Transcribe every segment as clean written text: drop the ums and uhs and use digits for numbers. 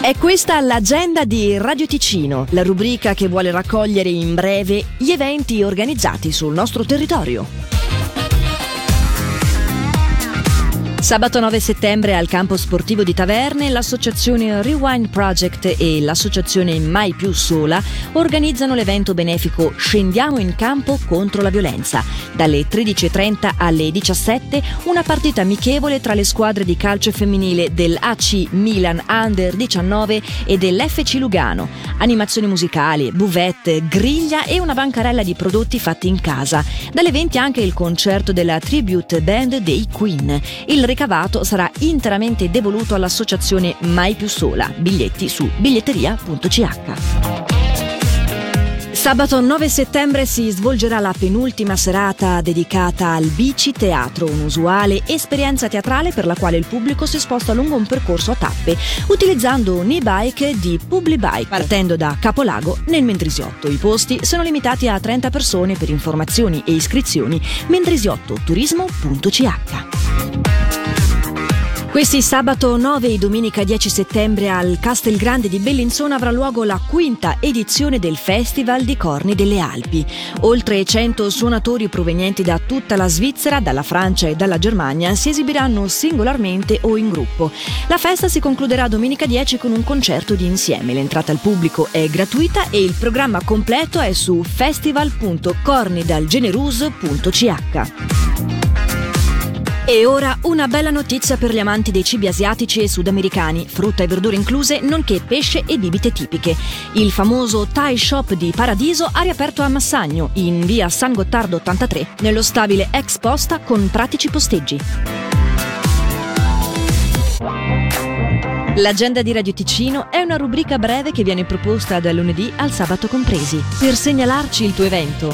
È questa l'agenda di Radio Ticino, la rubrica che vuole raccogliere in breve gli eventi organizzati sul nostro territorio. Sabato 9 settembre al campo sportivo di Taverne l'associazione Rewind Project e l'associazione Mai Più Sola organizzano l'evento benefico Scendiamo in campo contro la violenza. Dalle 13.30 alle 17 una partita amichevole tra le squadre di calcio femminile del AC Milan Under 19 e dell'FC Lugano. Animazioni musicali, buvette, griglia e una bancarella di prodotti fatti in casa. Dalle 20 anche il concerto della tribute band dei Queen. Il ricavato sarà interamente devoluto all'associazione Mai Più Sola. Biglietti su biglietteria.ch. Sabato 9 settembre si svolgerà la penultima serata dedicata al Bici Teatro, un'usuale esperienza teatrale per la quale il pubblico si sposta lungo un percorso a tappe, utilizzando un e-bike di Publibike, partendo da Capolago nel Mendrisiotto. I posti sono limitati a 30 persone. Per informazioni e iscrizioni mendrisiottoturismo.ch. Questi sabato 9 e domenica 10 settembre al Castelgrande di Bellinzona avrà luogo la quinta edizione del Festival di Corni delle Alpi. Oltre 100 suonatori provenienti da tutta la Svizzera, dalla Francia e dalla Germania si esibiranno singolarmente o in gruppo. La festa si concluderà domenica 10 con un concerto di insieme. L'entrata al pubblico è gratuita e il programma completo è su festival.cornidalgenerus.ch. E ora una bella notizia per gli amanti dei cibi asiatici e sudamericani, frutta e verdure incluse, nonché pesce e bibite tipiche. Il famoso Thai Shop di Paradiso ha riaperto a Massagno, in via San Gottardo 83, nello stabile ex posta con pratici posteggi. L'agenda di Radio Ticino è una rubrica breve che viene proposta dal lunedì al sabato compresi. Per segnalarci il tuo evento,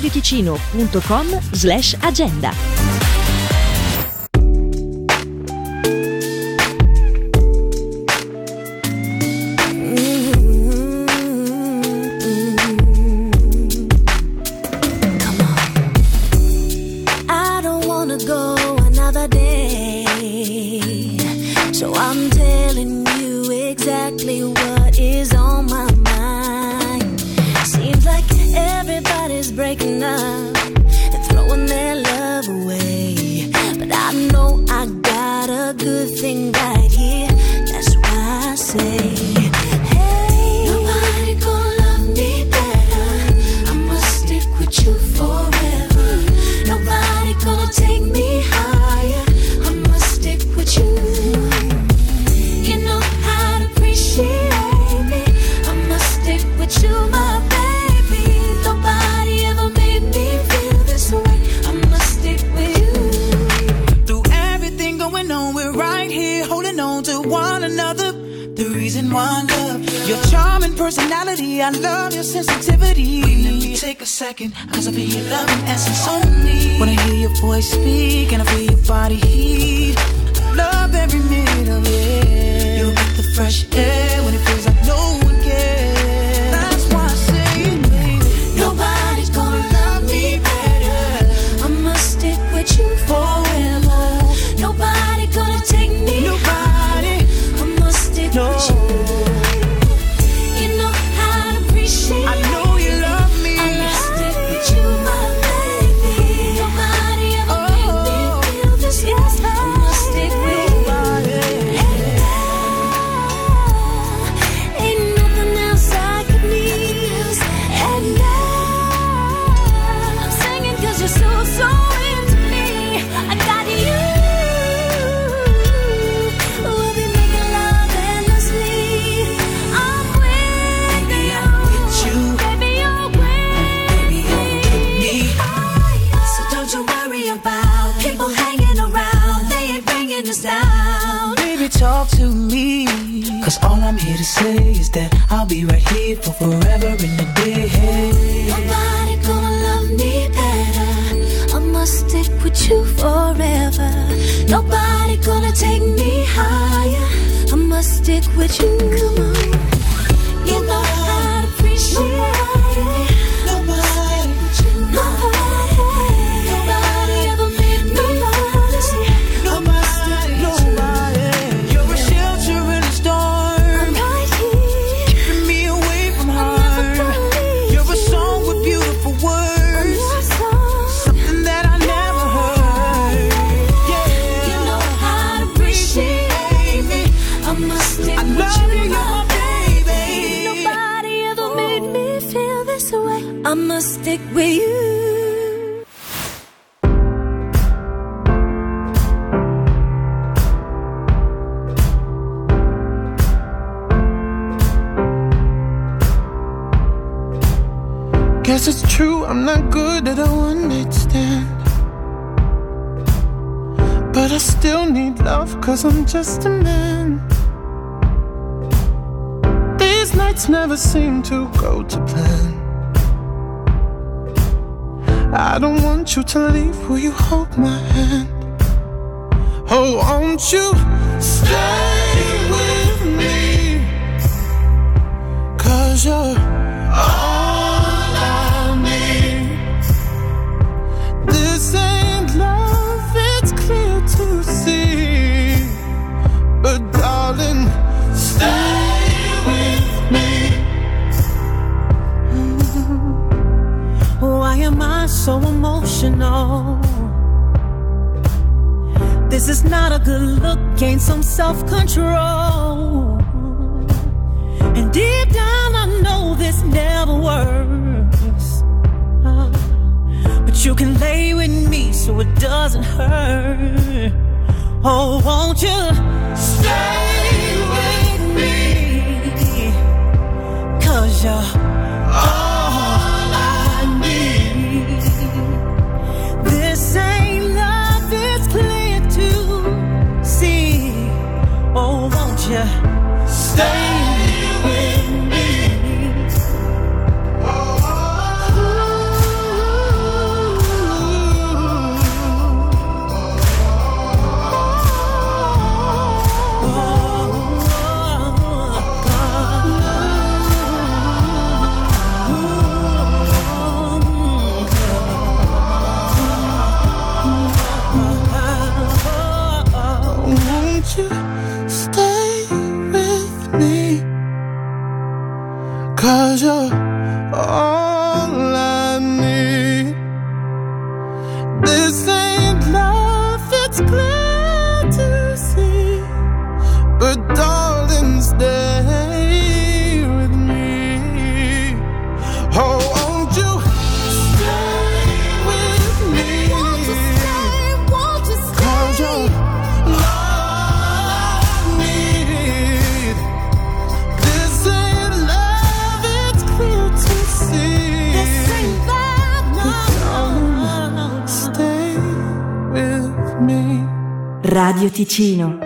radioticino.com/agenda. So I'm telling you exactly what is on my mind. Seems like everybody's breaking up and throwing their love away, but I know I got a good thing right here. That's why I say, hey, nobody gonna love me better. I must stick with you forever. Nobody gonna take me higher. I must stick with you. One love, your charming personality, I love your sensitivity. Let me take a second, cause I feel your love and essence on me. When I hear your voice speak and I feel your body heat, I love every minute of it. You get the fresh air when it feels like no one cares. That's why I say, baby, nobody's gonna love me better. I must stick with you forever. Nobody gonna take me higher. I must stick with you. Talk to me, cause all I'm here to say is that I'll be right here for forever and a day. Nobody gonna love me better. I must stick with you forever. Nobody gonna take me higher. I must stick with you. Come on, you know how to appreciate it. Nobody, nobody ever made me honest. I must stick with you. You're a shelter in a storm. I'm right stick with you. Guess it's true, I'm not good at a one-night stand, but I still need love, 'cause I'm just a man. These nights never seem to go to plan. I don't want you to leave, will you hold my hand? Oh, won't you stay with me, 'cause you're all I need. This ain't love, it's clear to see, but darling, stay with me. Why am I so emotional? This is not a good look, gain some self-control. And deep down I know this never works, but you can lay with me so it doesn't hurt. Oh, won't you stay with me, 'cause you're all I need. This ain't love, it's clear to see. Oh, won't you stay with me? Won't you stay with me, 'cause you're all I need. This ain't love, it's clear to see, but darling, stay with me. Oh, won't you stay with me? Won't you stay? Won't you 'Cause stay? you're all I need. This ain't love, it's clear to see. This ain't love, no. Stay with me. Radio Ticino.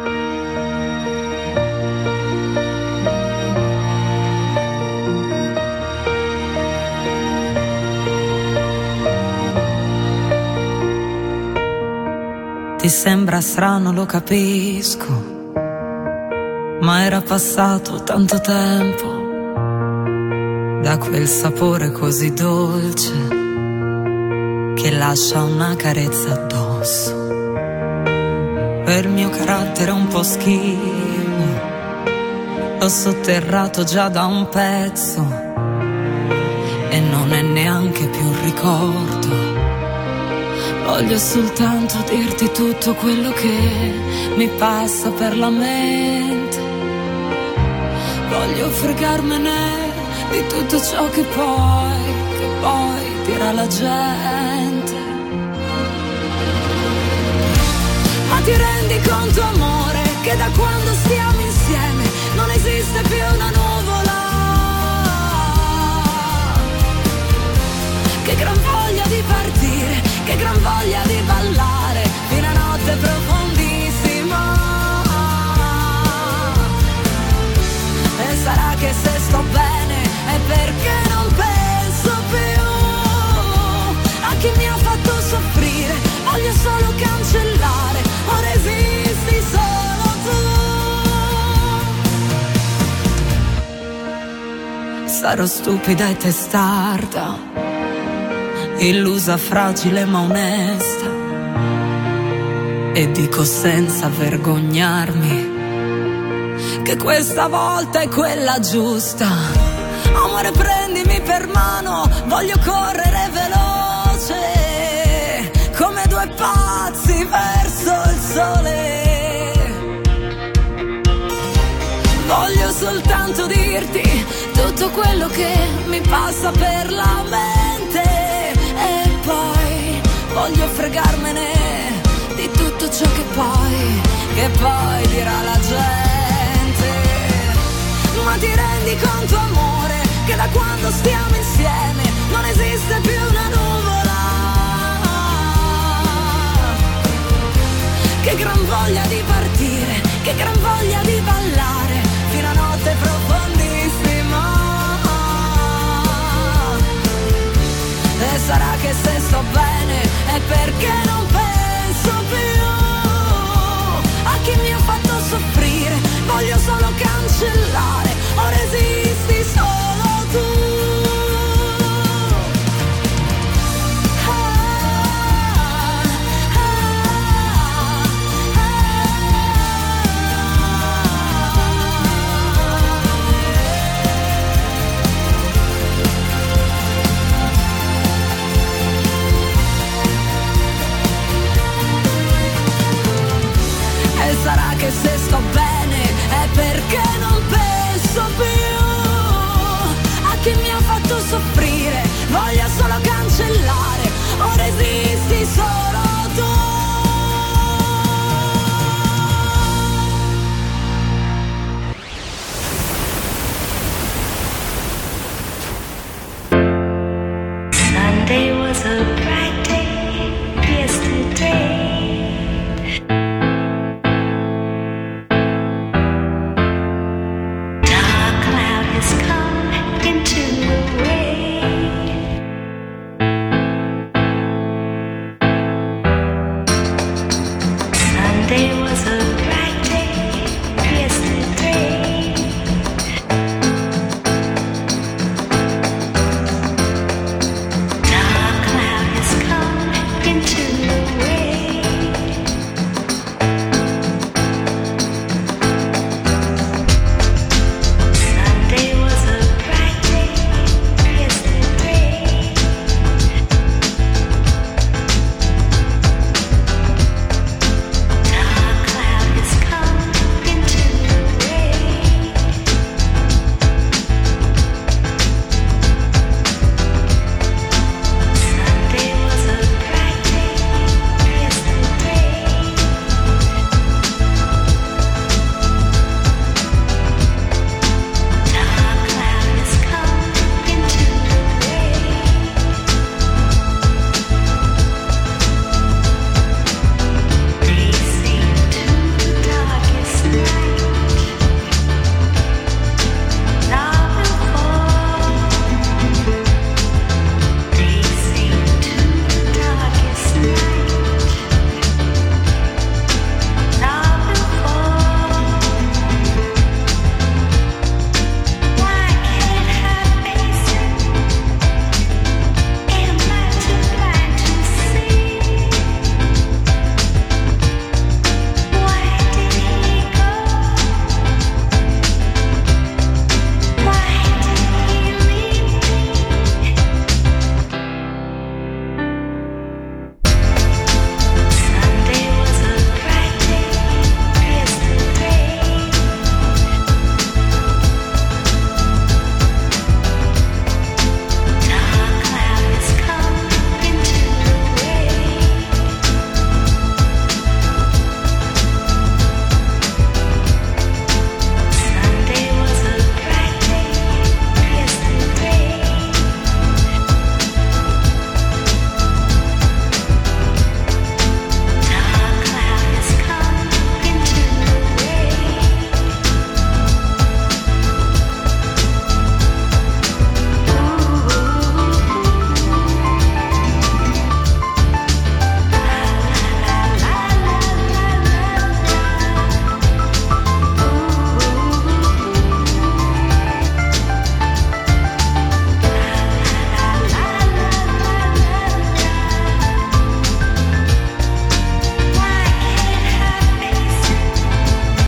Ti sembra strano, lo capisco, ma era passato tanto tempo da quel sapore così dolce che lascia una carezza addosso. Per mio carattere un po' schivo, l'ho sotterrato già da un pezzo e non è neanche più un ricordo. Voglio soltanto dirti tutto quello che mi passa per la mente. Voglio fregarmene di tutto ciò che poi dirà la gente. Ma ti rendi conto, amore, che da quando stiamo insieme non esiste più una nuvola? Che gran voglia di partire, che gran voglia di ballare fino a notte profondissima. E sarà che se sto bene è perché non penso più a chi mi ha fatto soffrire. Voglio solo cancellare, ora esisti solo tu. Sarò stupida e testarda, illusa, fragile ma onesta, e dico senza vergognarmi che questa volta è quella giusta. Amore, prendimi per mano, voglio correre veloce come due pazzi verso il sole. Voglio soltanto dirti tutto quello che mi passa per la mente. voglio fregarmene di tutto ciò che poi dirà la gente. Ma ti rendi conto, amore, che da quando stiamo insieme non esiste più una nuvola? Che gran voglia di partire, che gran voglia di ballare fino a notte profondissima. E sarà che se sto bene è perché non penso più a chi mi ha fatto soffrire. Voglio solo cancellare, ora esisti solo tu. Sarà che se sto bene è perché non penso più a chi mi ha fatto soffrire.